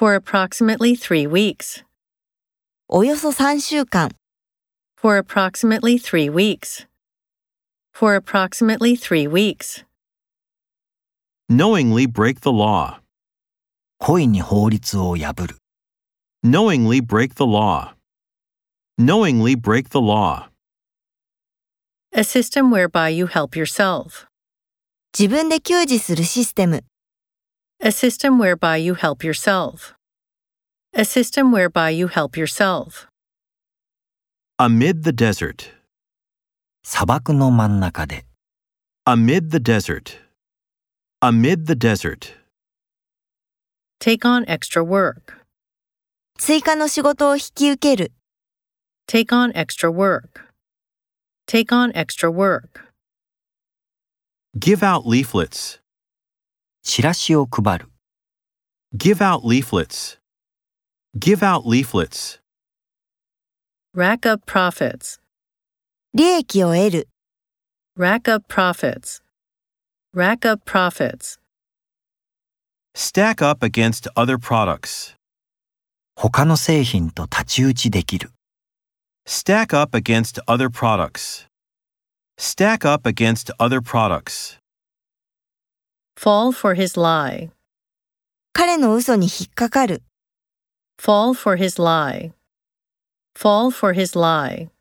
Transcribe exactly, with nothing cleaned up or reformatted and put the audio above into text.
For approximately three weeks. およそさんしゅうかん。 For approximately three weeks. For approximately three weeks. Knowingly break the law. 故意に法律を破る。 Knowingly break the law. Knowingly break the law. A system whereby you help yourself. 自分で給仕するシステム。 A system whereby you help yourself. A system whereby you help yourself. Amid the desert. 砂漠の真ん中で。 Amid the desert. Amid the desert. Take on extra work. 追加の仕事を引き受ける。 Take on extra work. Take on extra work. Give out leaflets. チラシを配る。 Give out leaflets. Give out leaflets. Rack up profits. 利益を得る。 Rack up profits. Rack up profits. Stack up against other products. 他の製品と太刀打ちできる。 Stack up against other products. Stack up against other products. Fall for his lie. 彼の嘘に引っかかる。 Fall for his lie. Fall for his lie.